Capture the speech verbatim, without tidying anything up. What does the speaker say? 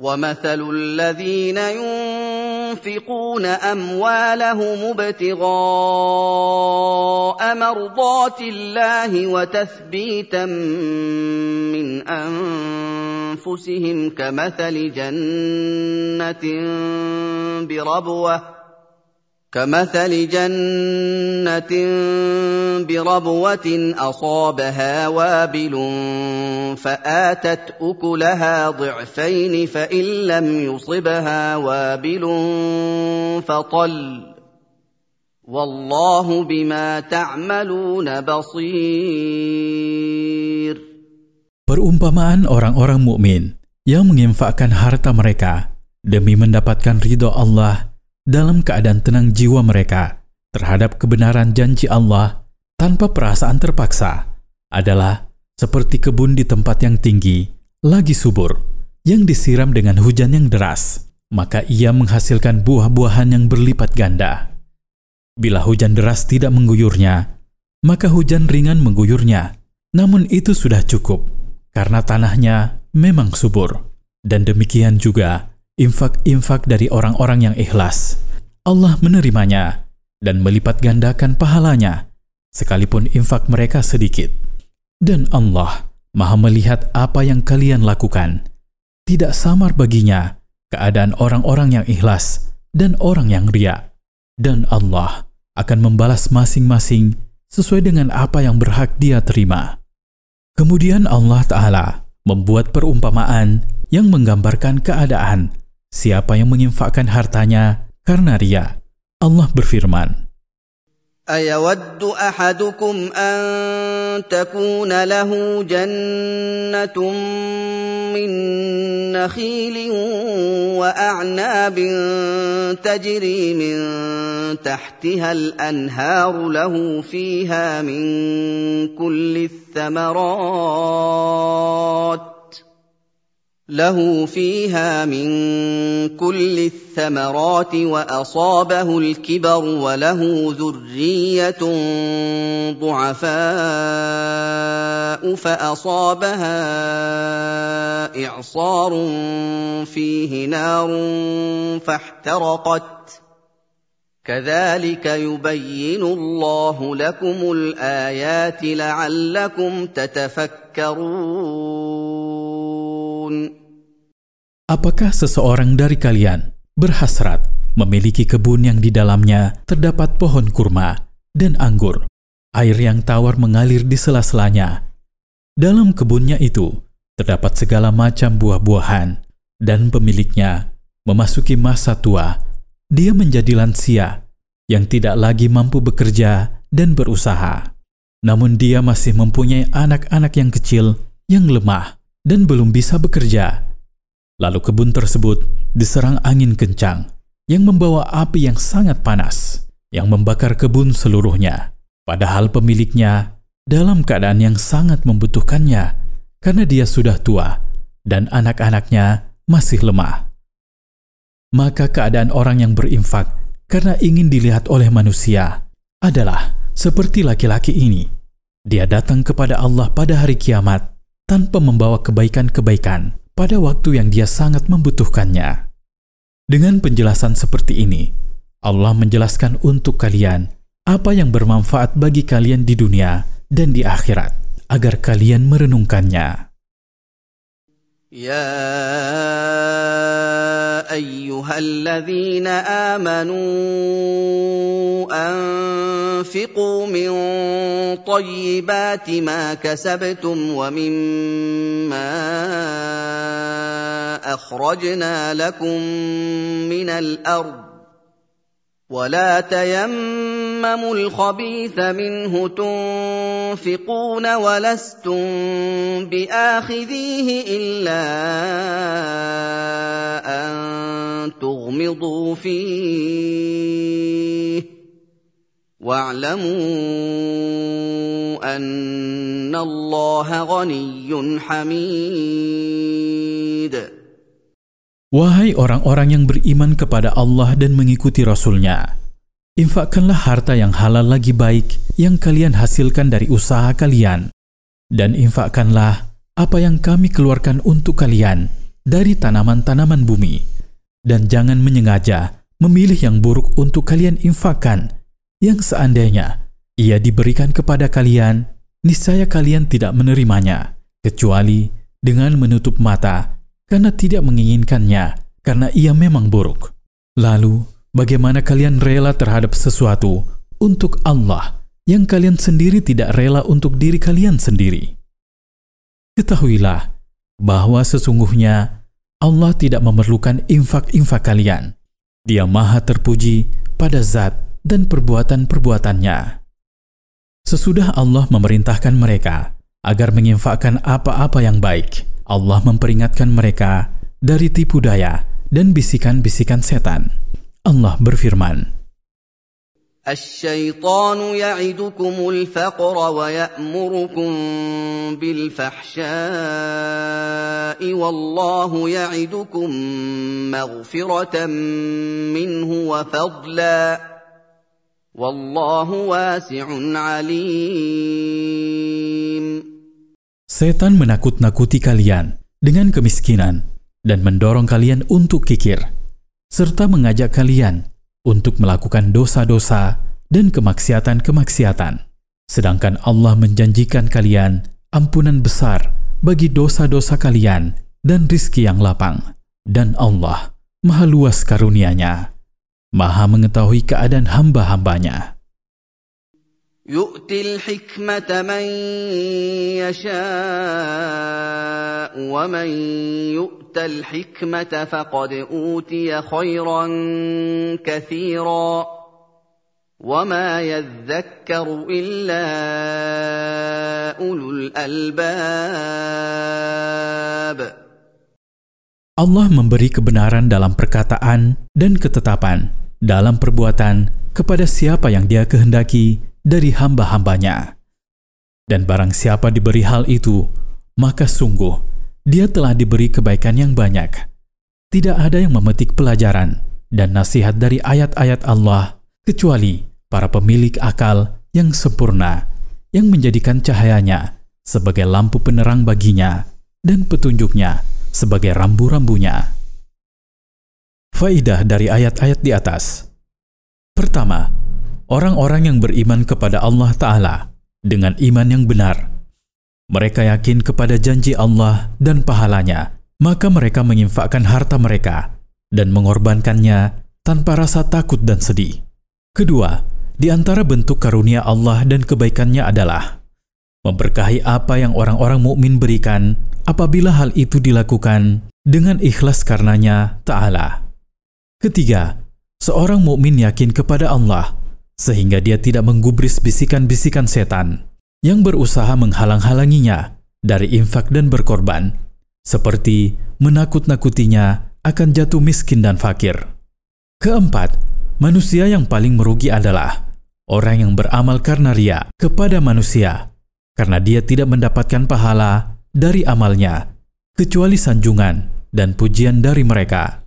وَمَثَلُ الَّذِينَ يُنْفِقُونَ أَمْوَالَهُمُ ابْتِغَاءَ مَرْضَاتِ اللَّهِ وَتَثْبِيتًا مِّنْ أَنفُسِهِمْ كَمَثَلِ جَنَّةٍ بِرَبْوَةٍ كمثل جنة بربوة أصابها وابل فآتت أكلها ضعفين فإن لم يصبها وابل فطل والله بما تعملون بصير. Perumpamaan orang-orang mukmin yang menginfakkan harta mereka demi mendapatkan ridho Allah dalam keadaan tenang jiwa mereka terhadap kebenaran janji Allah tanpa perasaan terpaksa adalah seperti kebun di tempat yang tinggi, lagi subur, yang disiram dengan hujan yang deras, maka ia menghasilkan buah-buahan yang berlipat ganda. Bila hujan deras tidak mengguyurnya, maka hujan ringan mengguyurnya, namun itu sudah cukup, karena tanahnya memang subur. Dan demikian juga infak-infak dari orang-orang yang ikhlas. Allah menerimanya dan melipat gandakan pahalanya, sekalipun infak mereka sedikit. Dan Allah Maha melihat apa yang kalian lakukan. Tidak samar baginya keadaan orang-orang yang ikhlas dan orang yang riya. Dan Allah akan membalas masing-masing sesuai dengan apa yang berhak dia terima. Kemudian Allah Ta'ala membuat perumpamaan yang menggambarkan keadaan siapa yang menginfakkan hartanya karena riya. Allah berfirman, أَيَوَدُّ أَحَدُكُمْ أَن تَكُونَ لَهُ جَنَّةٌ مِّن نَّخِيلٍ وَأَعْنَابٍ تَجْرِي مِن تَحْتِهَا الْأَنْهَارُ لَهُ فِيهَا مِن كُلِّ الثَّمَرَاتِ له فيها من كل الثمرات وأصابه الكبر وله ذرية ضعفاء فأصابها إعصار فيه نار فاحترقت كذلك يبين الله لكم الآيات لعلكم تتفكرون. Apakah seseorang dari kalian berhasrat memiliki kebun yang di dalamnya terdapat pohon kurma dan anggur, air yang tawar mengalir di sela-selanya? Dalam kebunnya itu terdapat segala macam buah-buahan, dan pemiliknya memasuki masa tua. Dia menjadi lansia yang tidak lagi mampu bekerja dan berusaha. Namun dia masih mempunyai anak-anak yang kecil yang lemah dan belum bisa bekerja. Lalu kebun tersebut diserang angin kencang yang membawa api yang sangat panas, yang membakar kebun seluruhnya. Padahal pemiliknya dalam keadaan yang sangat membutuhkannya karena dia sudah tua dan anak-anaknya masih lemah. Maka keadaan orang yang berinfak karena ingin dilihat oleh manusia adalah seperti laki-laki ini. Dia datang kepada Allah pada hari kiamat tanpa membawa kebaikan-kebaikan pada waktu yang dia sangat membutuhkannya. Dengan penjelasan seperti ini, Allah menjelaskan untuk kalian apa yang bermanfaat bagi kalian di dunia dan di akhirat, agar kalian merenungkannya. Ya ayyuhalladzina amanu anfiqu min tayyibati ma kasabtum wa mimma akhrajna lakum minal ard ولا تيمموا الخبيث منه تنفقون ولستم بآخذيه إلا أن تغمضوا فيه واعلموا أن الله غني حميد. Wahai orang-orang yang beriman kepada Allah dan mengikuti Rasul-Nya, infakkanlah harta yang halal lagi baik yang kalian hasilkan dari usaha kalian, dan infakkanlah apa yang kami keluarkan untuk kalian dari tanaman-tanaman bumi. Dan jangan menyengaja memilih yang buruk untuk kalian infakkan, yang seandainya ia diberikan kepada kalian, niscaya kalian tidak menerimanya, kecuali dengan menutup mata karena tidak menginginkannya, karena ia memang buruk. Lalu, bagaimana kalian rela terhadap sesuatu untuk Allah yang kalian sendiri tidak rela untuk diri kalian sendiri? Ketahuilah bahwa sesungguhnya Allah tidak memerlukan infak-infak kalian. Dia Maha terpuji pada zat dan perbuatan-perbuatannya. Sesudah Allah memerintahkan mereka agar menginfakkan apa-apa yang baik, Allah memperingatkan mereka dari tipu daya dan bisikan-bisikan setan. Allah berfirman, الشيطان يعدكم الفقر ويأمركم بالفحشاء والله يعدكم مغفرة منه وفضلا والله واسع عليم. Setan menakut-nakuti kalian dengan kemiskinan dan mendorong kalian untuk kikir, serta mengajak kalian untuk melakukan dosa-dosa dan kemaksiatan-kemaksiatan. Sedangkan Allah menjanjikan kalian ampunan besar bagi dosa-dosa kalian dan rizki yang lapang. Dan Allah Maha luas karunia-Nya, Maha mengetahui keadaan hamba-hambanya. يؤتي الحكمة من يشاء ومن يؤت الحكمة فقد أوتي خيرا كثيرا وما يذكر إلا أولو الألباب. Allah memberi kebenaran dalam perkataan dan ketetapan dalam perbuatan kepada siapa yang Dia kehendaki dari hamba-hambanya. Dan barang siapa diberi hal itu, maka sungguh dia telah diberi kebaikan yang banyak. Tidak ada yang memetik pelajaran dan nasihat dari ayat-ayat Allah kecuali para pemilik akal yang sempurna, yang menjadikan cahayanya sebagai lampu penerang baginya dan petunjuknya sebagai rambu-rambunya. Faidah dari ayat-ayat di atas. Pertama, orang-orang yang beriman kepada Allah Ta'ala dengan iman yang benar. Mereka yakin kepada janji Allah dan pahalanya, maka mereka menginfakkan harta mereka dan mengorbankannya tanpa rasa takut dan sedih. Kedua, di antara bentuk karunia Allah dan kebaikannya adalah memberkahi apa yang orang-orang mukmin berikan apabila hal itu dilakukan dengan ikhlas karenanya Ta'ala. Ketiga, seorang mukmin yakin kepada Allah sehingga dia tidak menggubris bisikan-bisikan setan yang berusaha menghalang-halanginya dari infak dan berkorban, seperti menakut-nakutinya akan jatuh miskin dan fakir. Keempat, manusia yang paling merugi adalah orang yang beramal karena ria kepada manusia, karena dia tidak mendapatkan pahala dari amalnya, kecuali sanjungan dan pujian dari mereka.